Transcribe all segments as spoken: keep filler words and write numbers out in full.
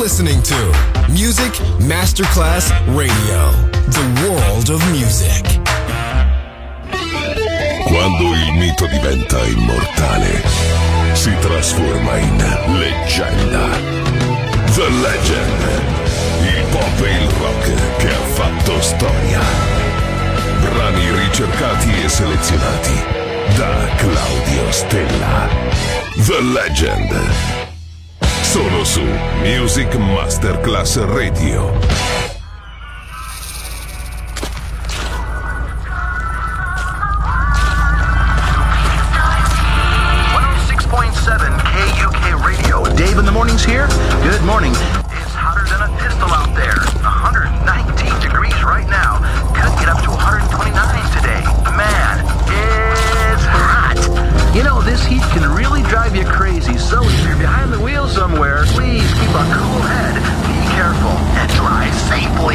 listening to Music Masterclass Radio, the world of music. Quando il mito diventa immortale, si trasforma in leggenda. The Legend, il pop e il rock che ha fatto storia. Brani ricercati e selezionati da Claudio Stella. The Legend. Solo su Music Masterclass Radio. one oh six point seven K U K Radio. Dave in the mornings here. Good morning. It's hotter than a pistol out there. one hundred nineteen degrees right now. Could get up to one hundred twenty-nine today. Man, it's hot. You know, this heat can really drive you crazy, so if you're behind the wheel somewhere, please keep a cool head, be careful, and drive safely.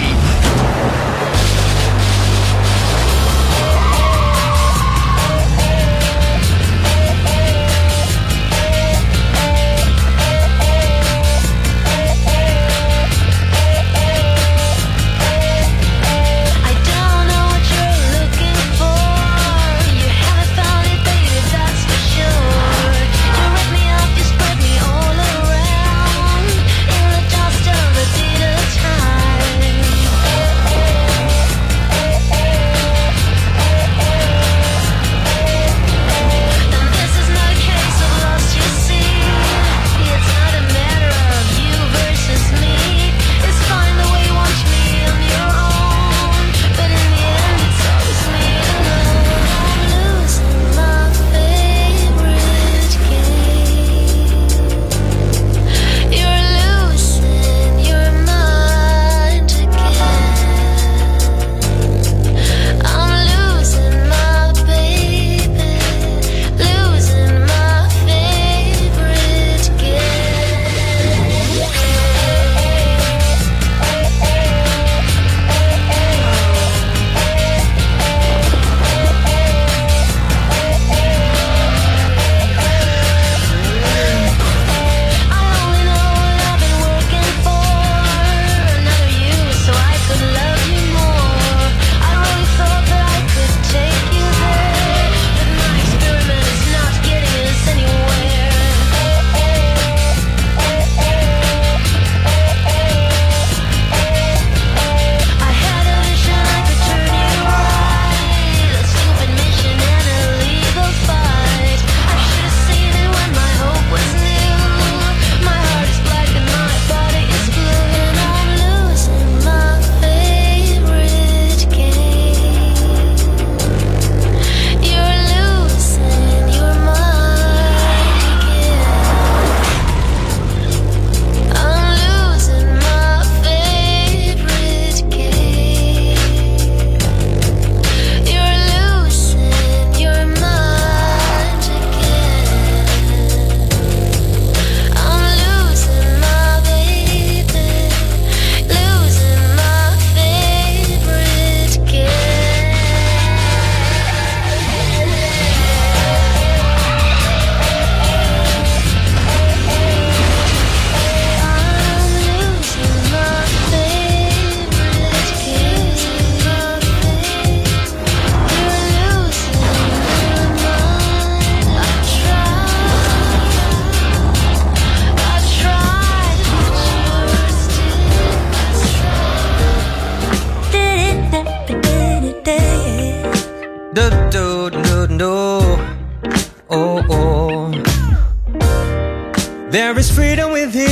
There is freedom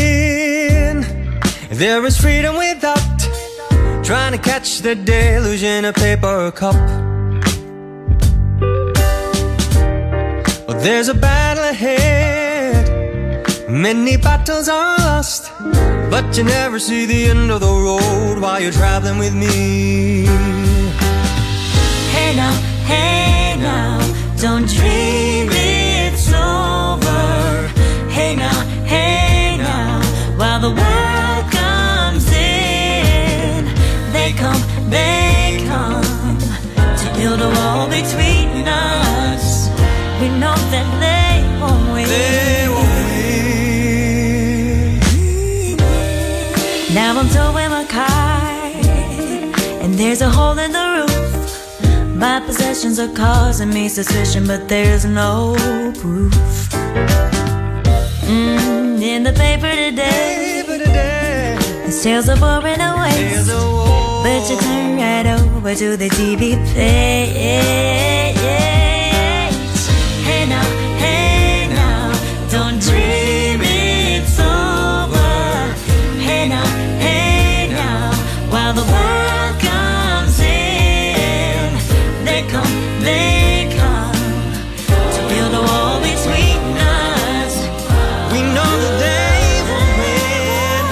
within, there is freedom without, trying to catch the deluge in a paper cup. Oh, there's a battle ahead, many battles are lost, but you never see the end of the road while you're traveling with me. Hey now, hey now, don't dream it's over. Hey now, hey now, while the world comes in, they come, they come to build a wall between us. We know that they won't win. They won't win. Now I'm towing my car, and there's a hole in the roof. My possessions are causing me suspicion, but there's no proof. Mm, in the paper today, paper today. The sales are pouring away, but you turn right over to the T V page. Hey now, hey now, don't dream it's over. Hey now, hey now, while the world comes in, they come, they come to build a wall between us. We know that they will win.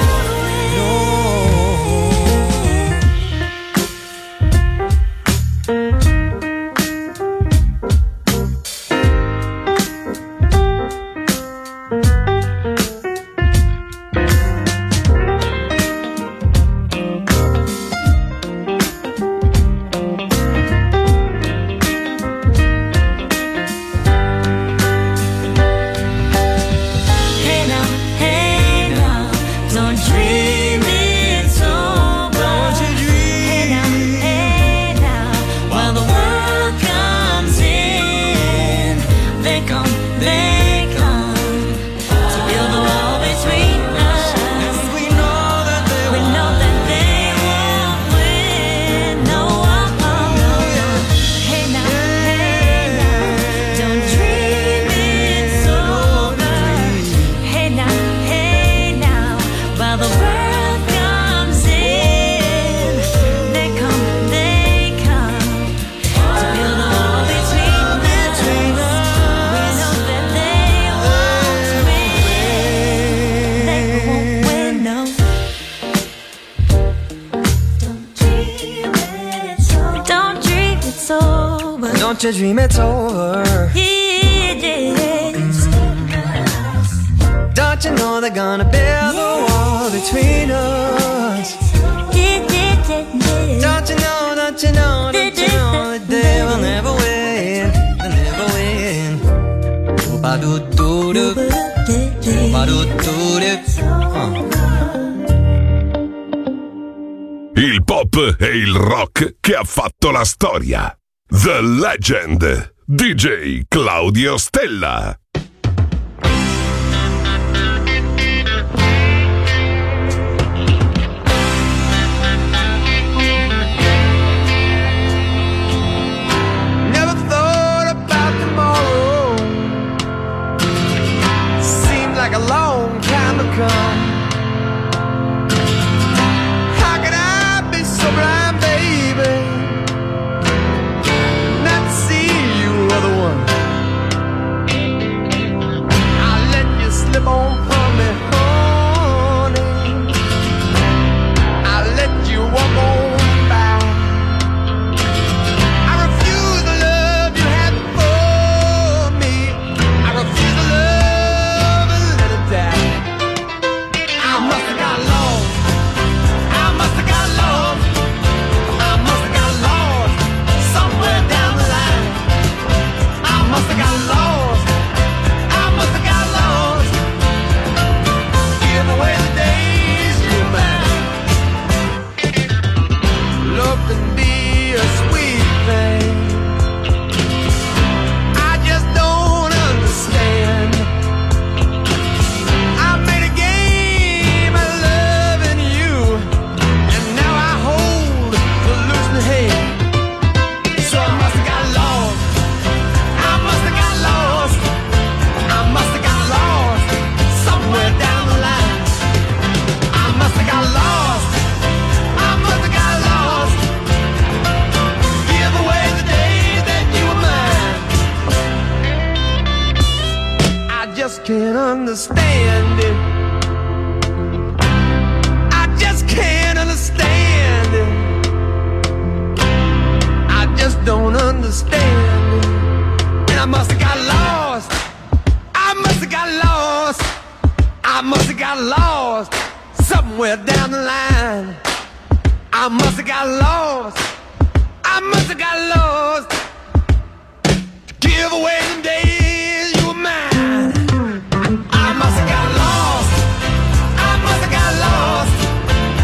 Hey now, hey now, don't dream it's over. Hey now, hey now, while the world comes in, they come, they come to build a wall between us. We know that they we know that they won't win. No, oh, oh, no. Hey now, hey now, don't dream it's over. Hey now, hey now, while the world comes in, they come, they come to build a wall between us. We know that they won't win. They won't win, no. Don't dream it's over. Don't dream it's over. Don't you dream it's over. Yes. Don't you know they're gonna build a wall between us? Don't you know, don't you know, don't you know that they will never win, they'll never win. Ba-do-do-do, ba-do-do-do. Uh. Il pop e il rock che ha fatto la storia. The Legend, D J Claudio Stella. Never thought about tomorrow. Seemed like a long time to come. How could I be so blind, baby, not to see you are the one? I let you slip on from me, honey. I let you walk on by. I refuse the love you had for me. I refuse the love and let it die. I must have got lost. I must have got lost. I must have got lost somewhere down the line. I must have got lost. I must have got lost. Give away the days you're mine. Love can be a sweet thing. I just don't understand. I made a game of loving you, and now I hold the losing hand. So I must have got lost. I must have got lost. I must have got lost somewhere down the line. I must have got lost. I must have got lost. Give away the day that you were mine. I just can't understand it. I just can't understand it. I just don't understand it. And I must have got lost. I must have got lost. I must have got lost somewhere down the line. I must have got lost. I must have got lost. Give away the days you were mine. I must have got lost. I must have got lost.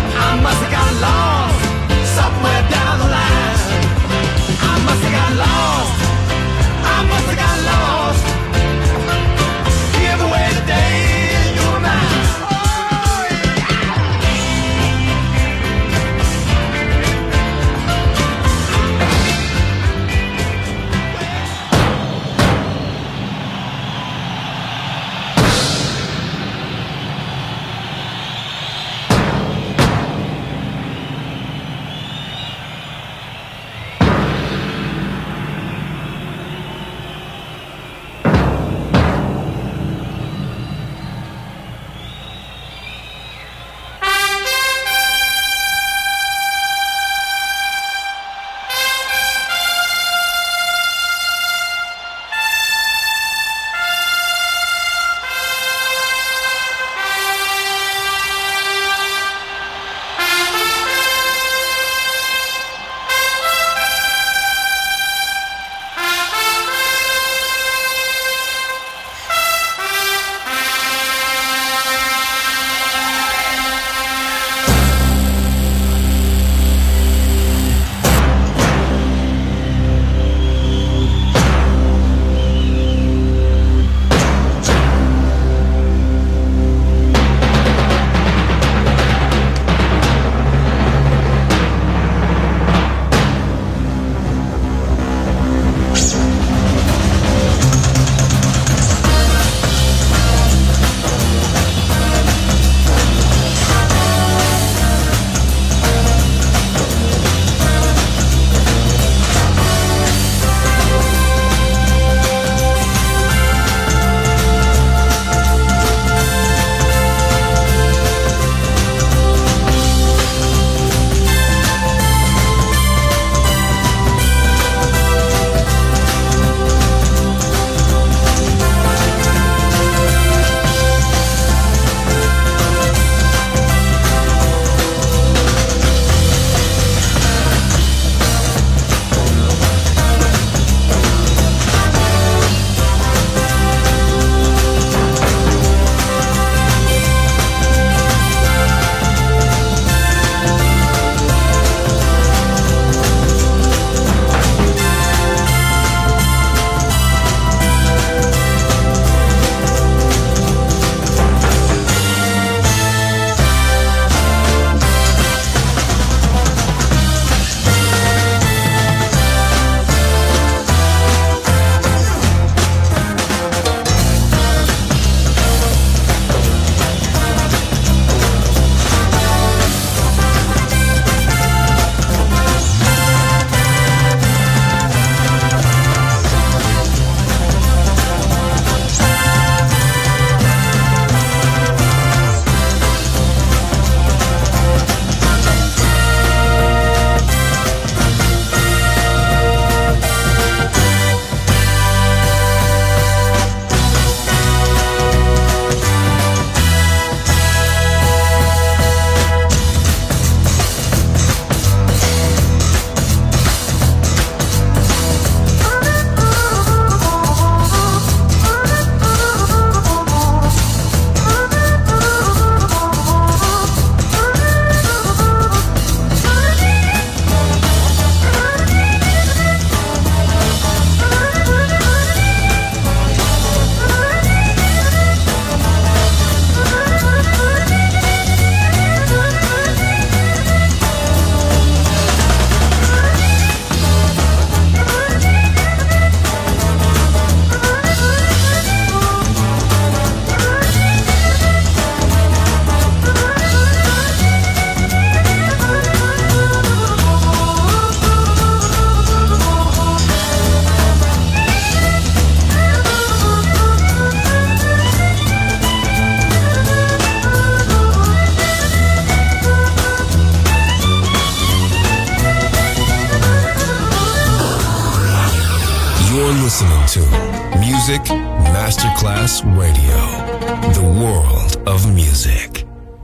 listening to Music Masterclass Radio, the world of music.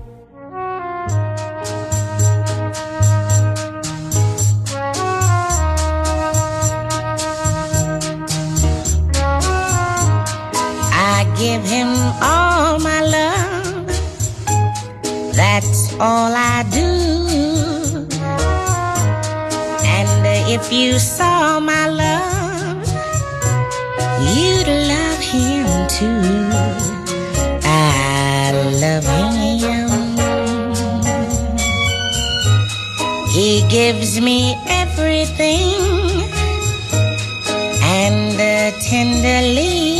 I give him all my love, that's all I do. And if you saw my love, you'd love him too. I love him. He gives me everything, and uh, tenderly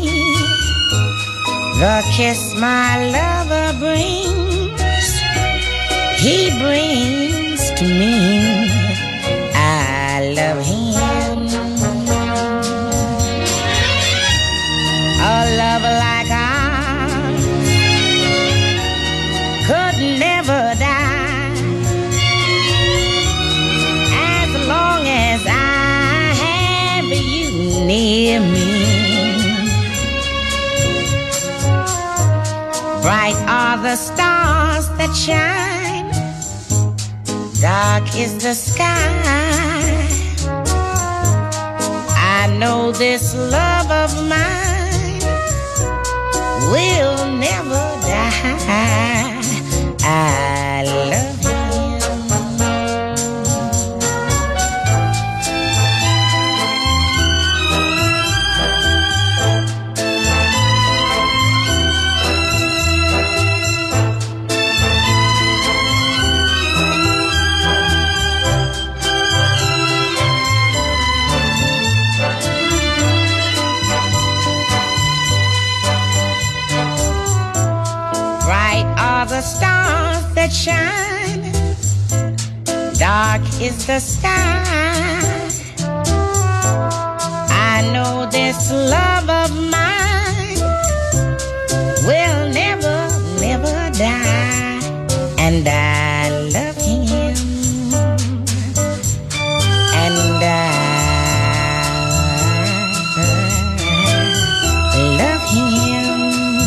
the kiss my lover brings, he brings to me. I love him. A love like ours could never die, as long as I have you near me. Bright are the stars that shine, dark is the sky. I know this love of mine will never die. I love him. The stars that shine, dark is the sky. I know this love of mine will never, never die, and I love him, and I love him,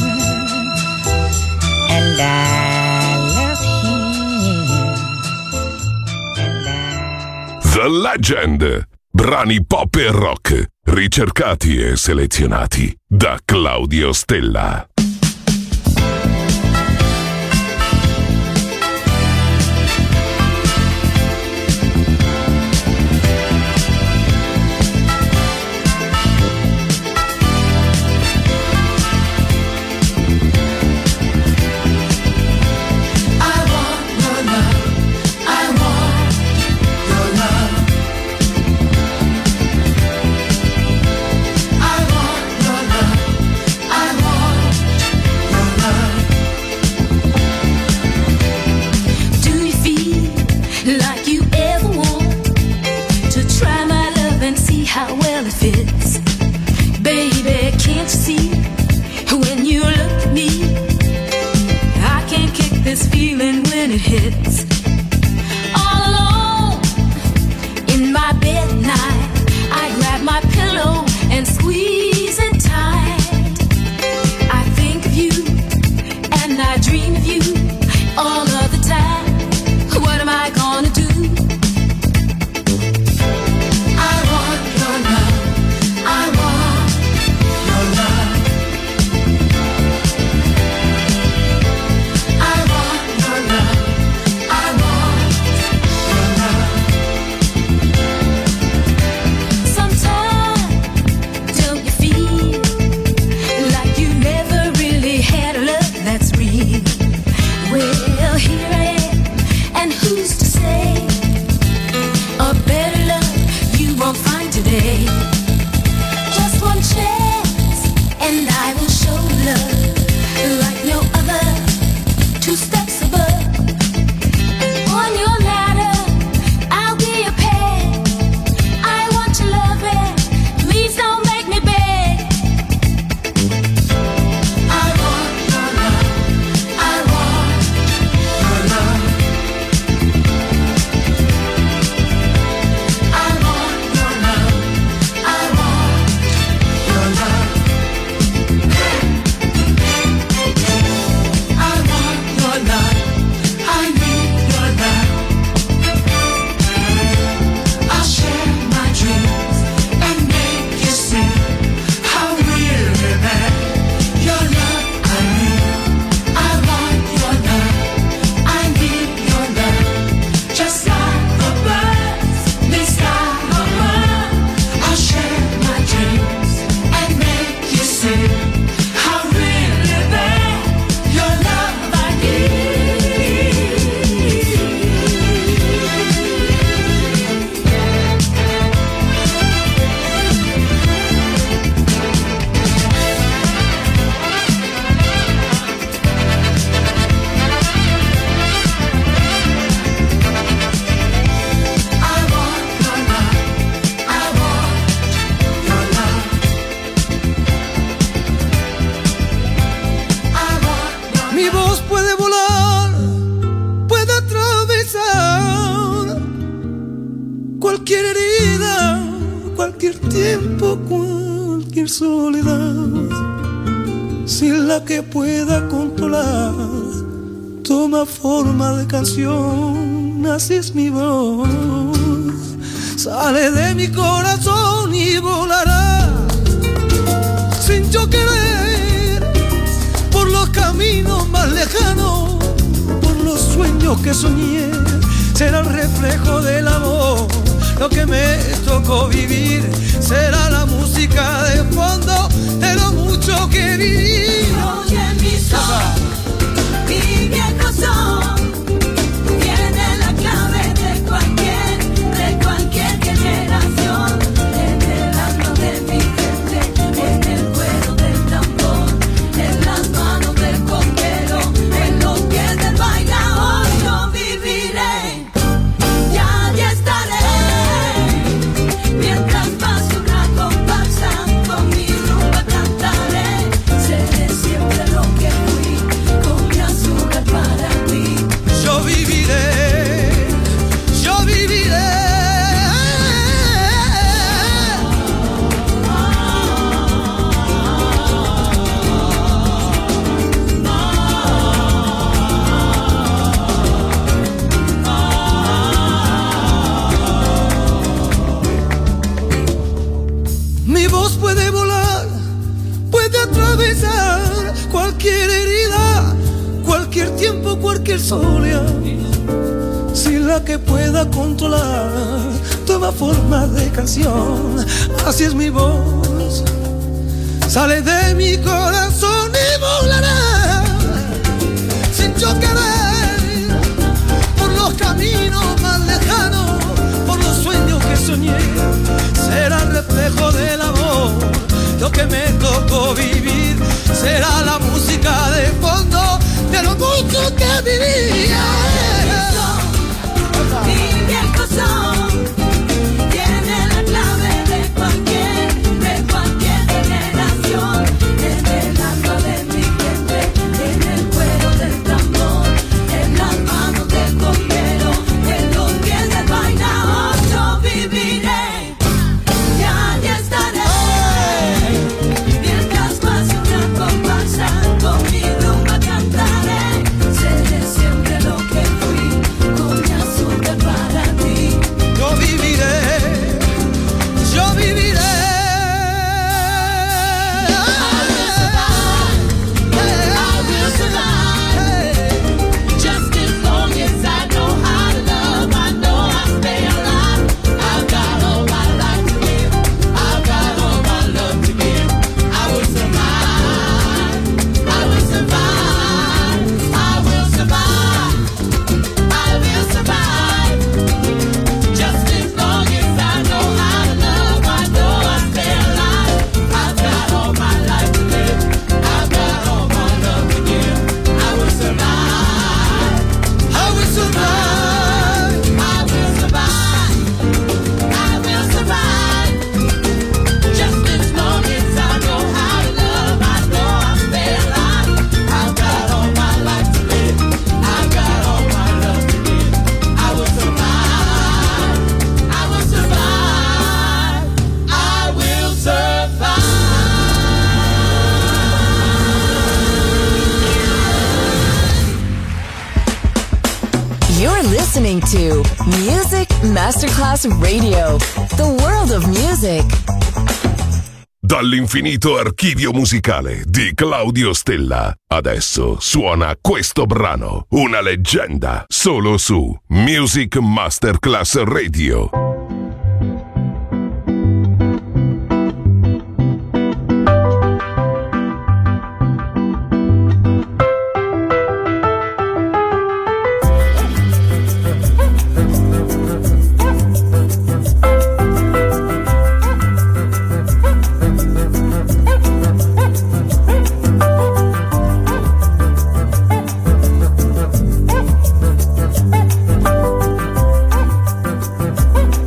and I The Legend. Brani pop e rock, ricercati e selezionati da Claudio Stella. I soledad, sin la que pueda controlar, toma forma de canción, así es mi voz. Sale de mi corazón y volará, sin yo querer, por los caminos más lejanos, por los sueños que soñé. Será el reflejo del amor, lo que me tocó vivir. Será la música de fondo de lo mucho que viví. Oye mi son, mi viejo son, tiene la clave de cualquier, de cualquier generación. En el alma de mi gente, en el cuero del tambor, en las manos del conquero, en los pies del bailador. Yo viviré, ya ya estaré, mientras pase una comparsa, con mi rumba cantaré. Seré siempre lo que fui, con mi azúcar para ti. Yo viviré, yo viviré. Mi voz puede volar, puede atravesar cualquier herida, cualquier tiempo, cualquier soledad, sin la que pueda controlar, toma forma de canción, así es mi voz. Sale de mi corazón y volará, sin yo querer, por los caminos más lejanos, por los sueños que soñé. Será el reflejo del amor, lo que me tocó vivir. Será la música de fondo de lo mucho que vivía. Mi viejo son, tiene la clave de cualquier, de cualquier generación. En el alma de mi gente, en el cuero del tambor, en las manos del conquero, en los pies del bailador. Yo viviré, ya ya estaré, mientras pase una comparsa, con mi rumba cantaré. Seré siempre lo que fui, con mi azúcar para ti. Yo viviré, yo viviré. Just as long as I know how to love, I know I'll stay alive. I've got all my life to live, I've got all my love to give. I will survive, I will survive, I will survive, I will survive. Just as long as I know how to love, I know I'll stay alive. I've got all my life to live, I've got all my love to give. I will survive, I will survive. I will survive, I will survive. Just as long as I know how to love, I know I'll stay alive. I've got all my life to live, I've got all my love to give. I will survive, I will survive, I will survive. You're listening to Music Masterclass Radio, the world of music. Dall'infinito archivio musicale di Claudio Stella. Adesso suona questo brano, una leggenda, solo su Music Masterclass Radio. I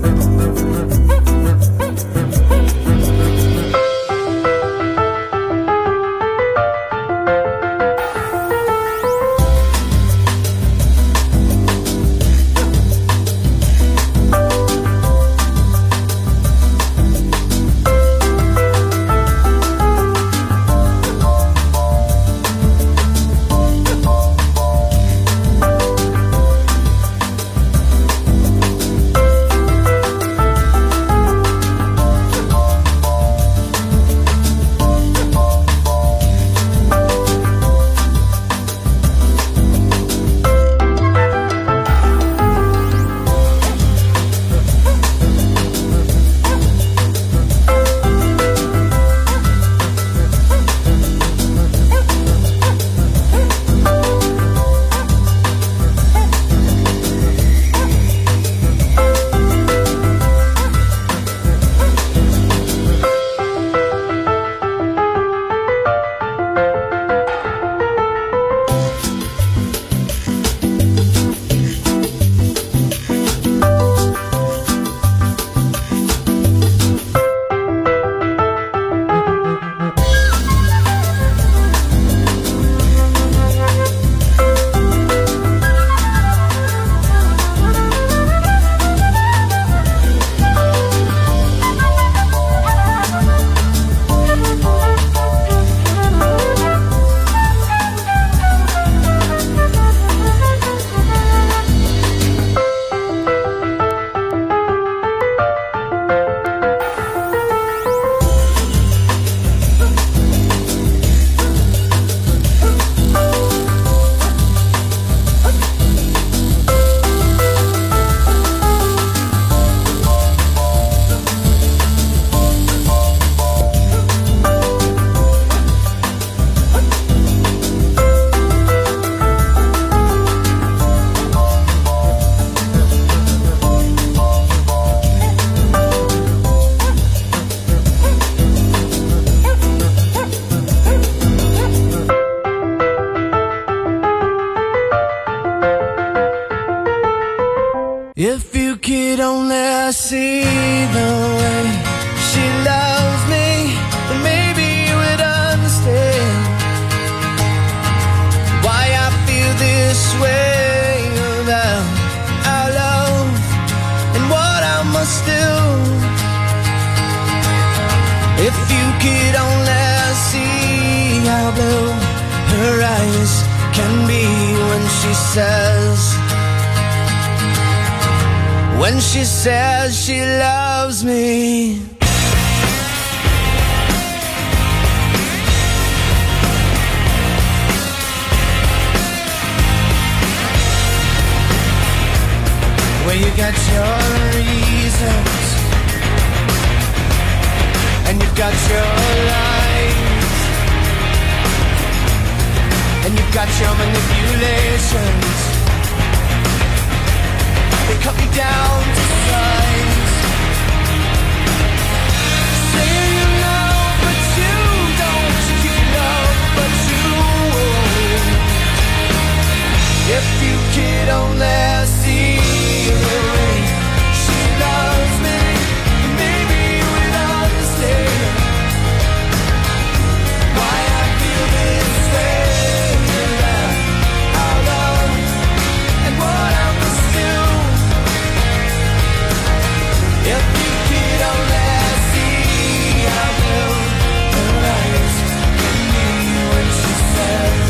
If you could only see the way she loves me, then maybe you would understand why I feel this way about our love and what I must do. If you could only see how blue her eyes can be when she says When she says she loves me. Well, you got your reasons and you've got your lies and you've got your manipulations. They cut me down to size. Say you love, but you don't. You love, but you won't. If you could only see the way she loves me, maybe you would understand why I feel this way about our love and what I must do. If you could only see how blue her eyes can be when she says,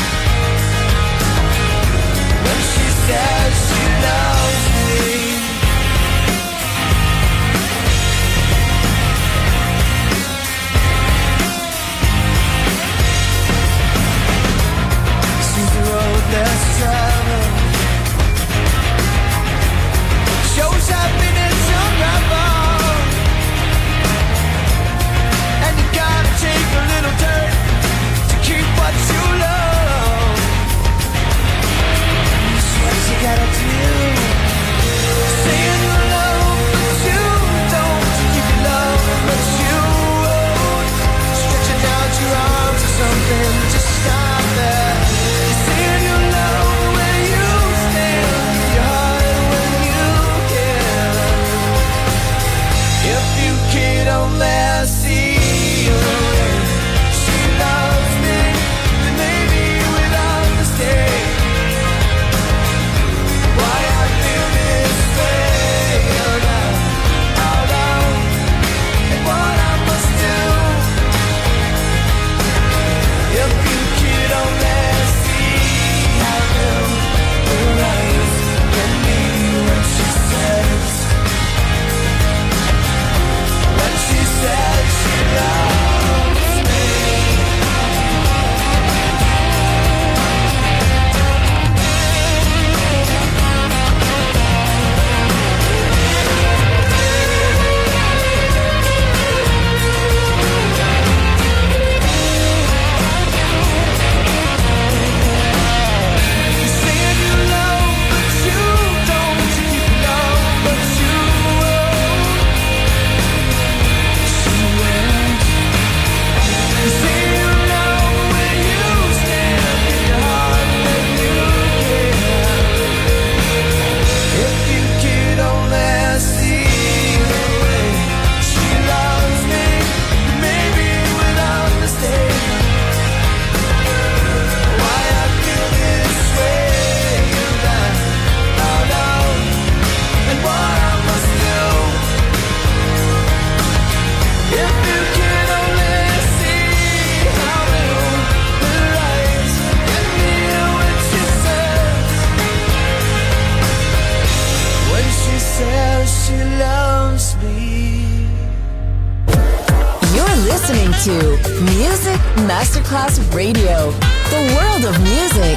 when she says she loves me. Sees the road less traveled, shows happiness unravel, and you gotta take a little dirt to keep what you love. That's what you gotta do. Saying you love, but you don't. You can love, but you won't. Stretching out your arms or something, just stop there. Saying you love when you stand, your heart when you can. If you could only see the way she loves me, then maybe you would understand why I feel this way about our love and what I must do. If you could only see how blue her eyes can be when she says, when she says she loves me. Saying you love, but you don't. You love, but you won't. She won't. Say you love when you stand, in your heart when you can. If you could only see the way she loves me, maybe you would understand why I feel this way about our love and what I must do. If you could only see how blue her eyes can be when she says, when she says she loves me. You're listening to Music Masterclass Radio, the world of music.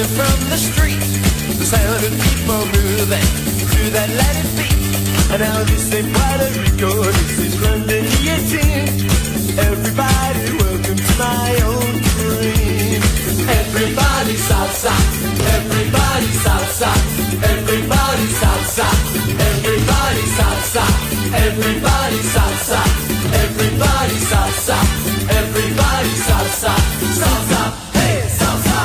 coming from the street. The sound of people moving to that Latin beat. And now this ain't Puerto Rico, this is London E eighteen. Everybody, welcome to my own dream. Everybody salsa, everybody salsa, everybody salsa, everybody salsa, everybody salsa, everybody salsa, everybody salsa, salsa, hey salsa.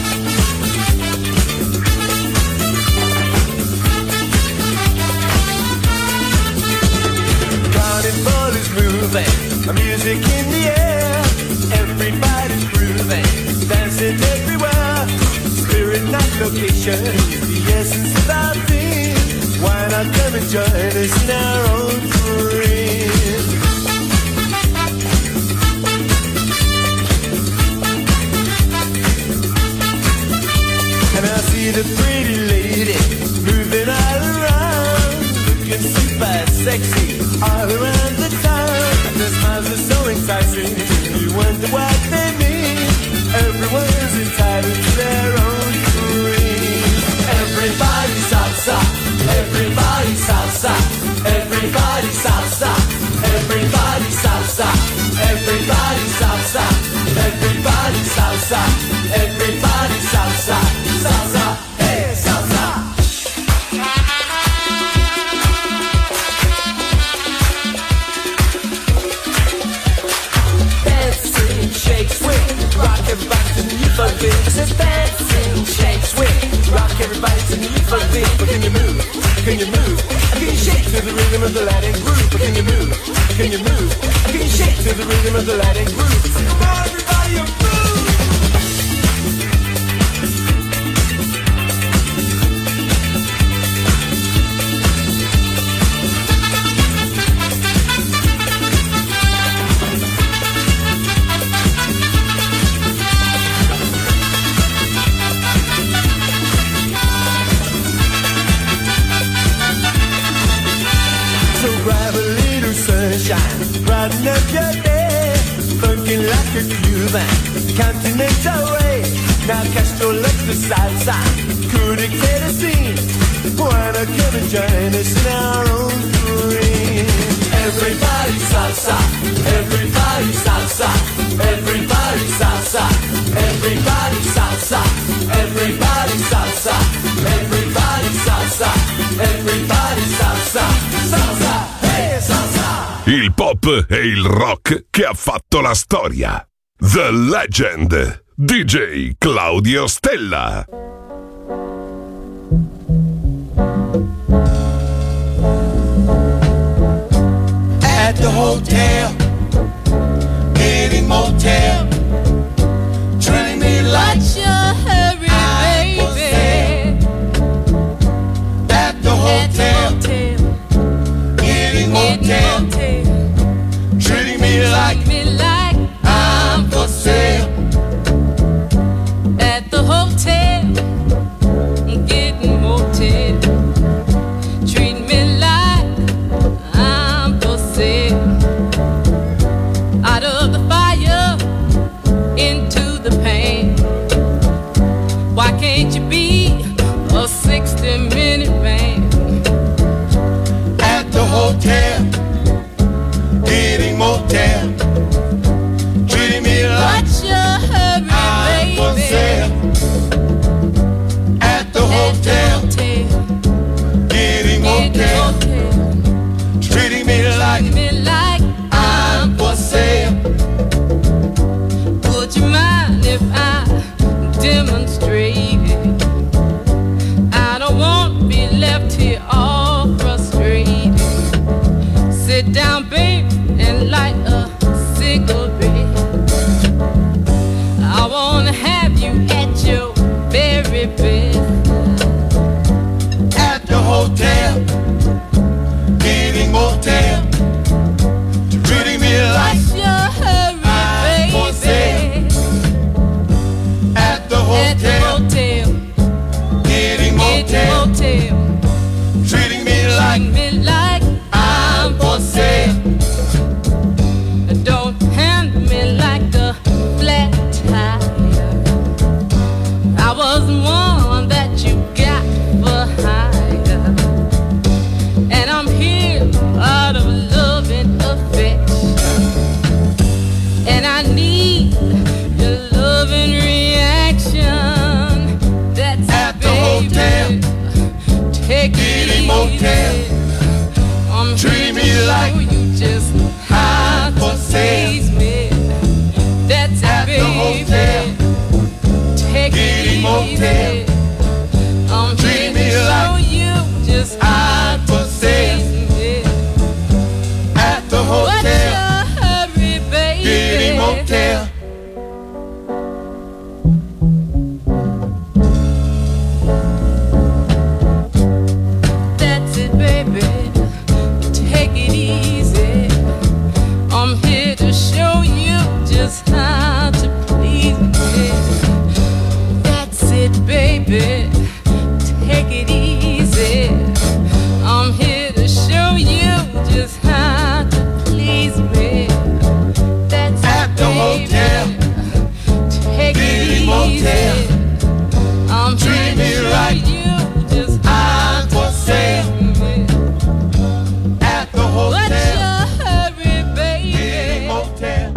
Carnival is moving, the music in the air, everybody's grooving, dancing everywhere. Spirit night location is the essence of our theme. Why not come and join us in our own dream? And I see the pretty lady moving all around, looking super sexy all around the town. Their smiles are so enticing, you wonder what they mean. Everyone's entitled to their own dream. Everybody salsa, everybody salsa, everybody salsa, everybody salsa, everybody salsa, everybody salsa, everybody salsa, salsa, hey salsa. Dancing, shake, swing, rock everybody to the youth of it. I said dancing, shake, swing, rock everybody to the youth of it. But can you move? Can you move? Can you shake to the rhythm of the Latin groove? But can you move? Can you move? Can you shake to the rhythm of the Latin groove? So come on, everybody, you move! Brighten up your day, funkin' like a Cuban, continental way. Now Castro loves the salsa, couldn't get a scene. Why not come and join us in our own dream? Everybody salsa, everybody salsa, everybody salsa, everybody salsa, everybody salsa, everybody salsa, everybody salsa, salsa, hey salsa. Il pop e il rock che ha fatto la storia. The Legend, D J Claudio Stella. At the hotel, getting motel, treating me like What's your hurry, baby? At the hotel, getting motel, treating me like me like I'm for sale. at the hotel, getting motel, treat me like I'm for sale. Out of the fire, into the pain. Why can't you be a sixty minute man? At the hotel, getting motel, treating me like What's your hurry, I'm for baby? sale. At the At the hotel, hotel, getting getting motel, motel, treating me like treat me like I'm for sale. Would you mind if I demonstrated? I don't want to be left here all frustrated. Sit down, babe, and light a cigarette. I wanna have you at your very best. At the hotel, getting motel, treating me like What's your hurry, I'm for sale. baby? At the At the hotel, hotel, getting getting motel, motel, treating me like treat me like I'm for sale. Don't handle me like a flat tire. I was one motel. Take it motel. I'm treat me like you just hide for sale. Me. That's at it, the hotel. Take it motel. I'm treat me like you just hide for sale. Me. At the hotel. What's your hurry, baby? Get it motel. How to please me. That's it, baby. Take it easy. I'm here to show you just how to please me. That's at it, the baby. Hotel. Take it easy. Motel. I'm here to show right. you just how to please me. At the hotel. What's your hurry, baby? Motel.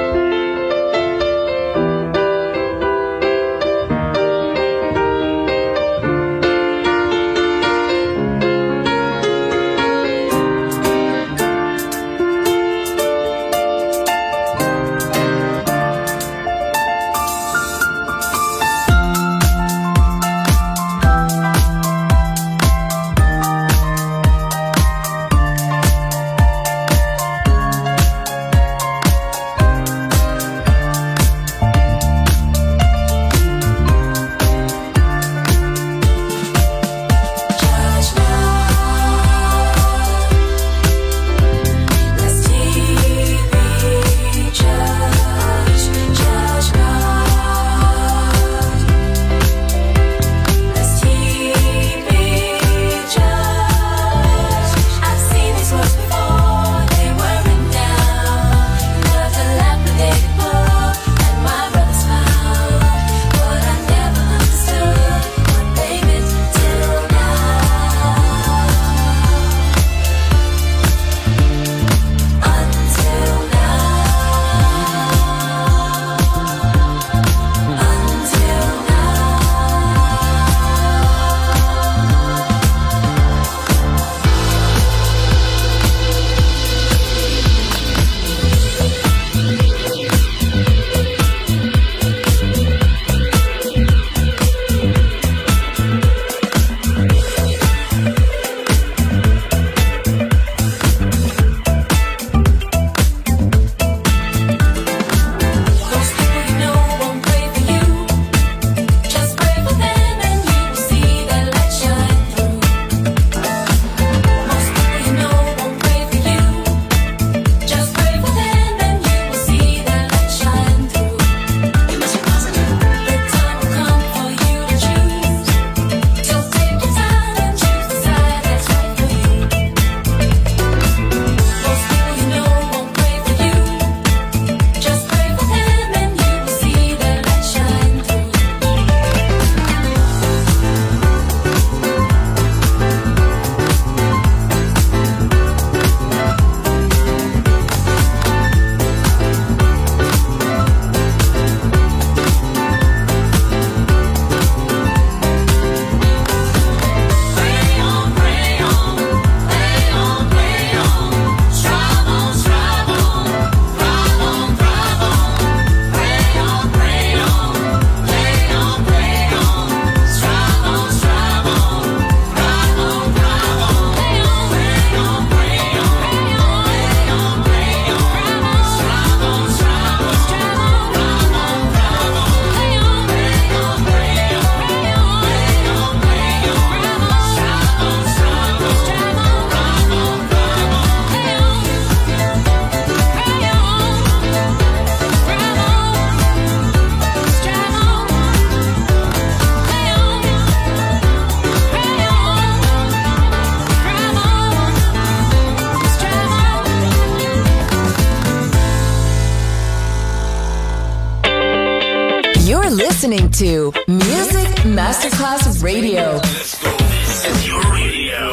listening to Music Masterclass Radio. This is your radio.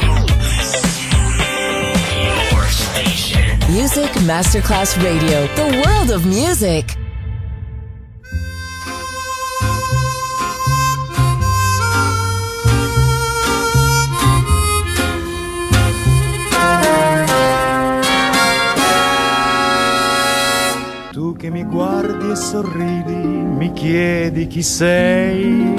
Your station. Music Masterclass Radio. The world of music. e sorridi, mi chiedi chi sei.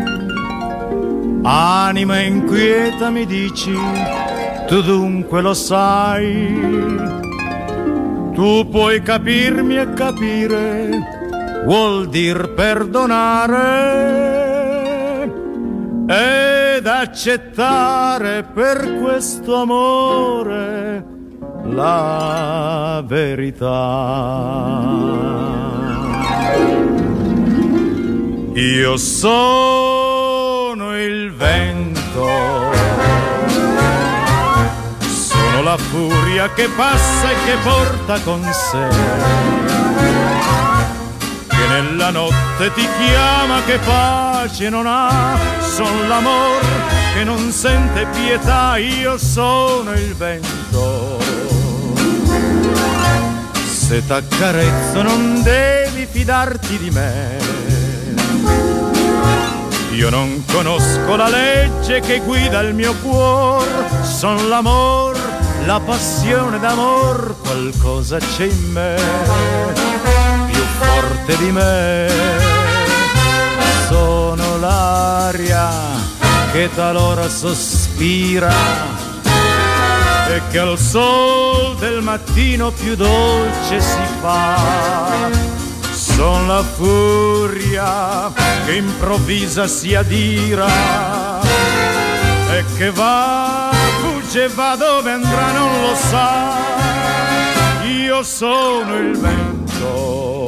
Anima inquieta mi dici, tu dunque lo sai. Tu puoi capirmi e capire, vuol dir perdonare ed accettare per questo amore la verità. Io sono il vento, sono la furia che passa e che porta con sé, che nella notte ti chiama, che pace non ha, son l'amor che non sente pietà. Io sono il vento, se t'accarezzo non devi fidarti di me. Io non conosco la legge che guida il mio cuore, son l'amor, la passione d'amor, qualcosa c'è in me, più forte di me. Sono l'aria che talora sospira e che al sol del mattino più dolce si fa. Son la furia che improvvisa si adira e che va, fugge, va dove andrà non lo sa. Io sono il vento,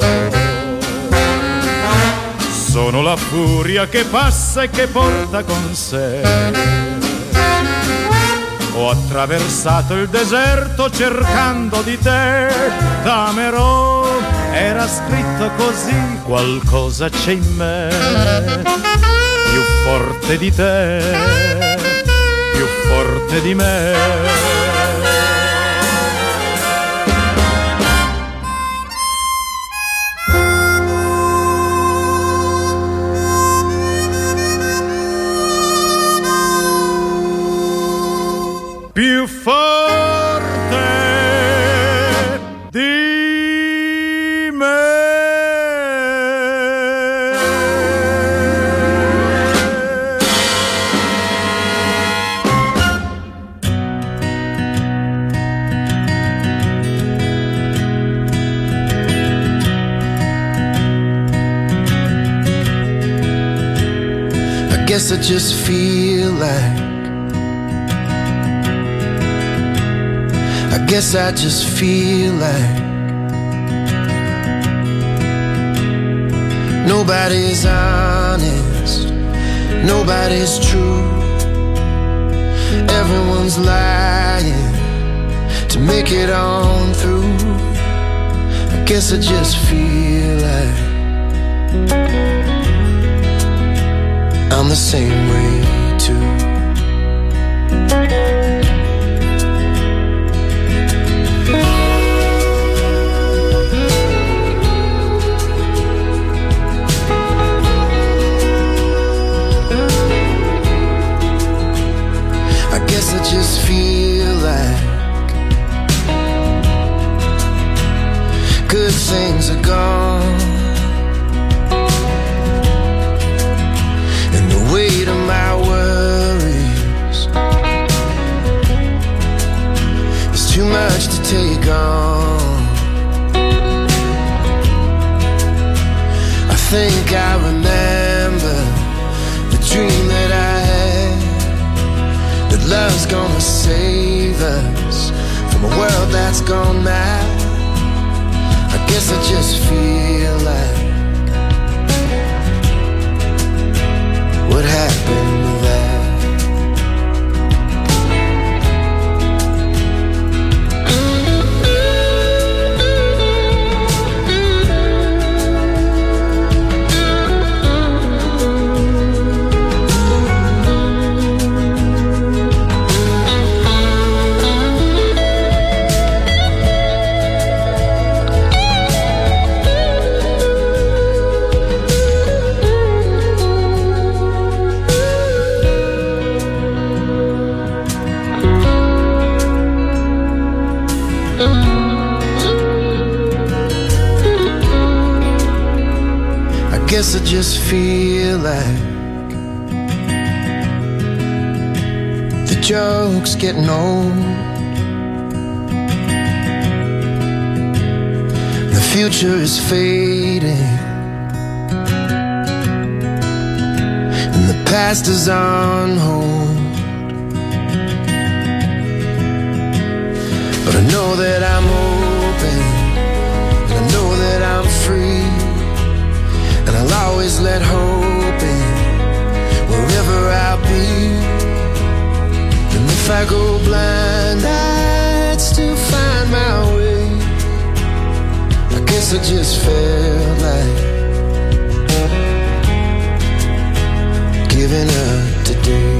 sono la furia che passa e che porta con sé. Ho attraversato il deserto cercando di te, t'amerò, era scritto così, qualcosa c'è in me, più forte di te, più forte di me. Più forte di me. I guess I just feel like I guess I just feel like nobody's honest, nobody's true. Everyone's lying to make it on through. I guess I just feel like I'm the same way too. I just feel like good things are gone, and the weight of my worries is too much to take on. I think I remember the dream that I had, that love's gonna save us from a world that's gone mad. I guess I just feel like what happened to that? guess I just feel like the joke's getting old. The future is fading, and the past is on hold. But I know that I'm open, and I know that I'm free, and I'll always let hope in wherever I'll be. And if I go blind, I'd still find my way. I guess I just felt like giving up today.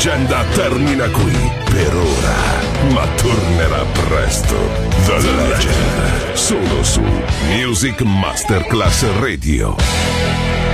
leggenda termina qui per ora, ma tornerà presto. The Legend, solo su Music Masterclass Radio.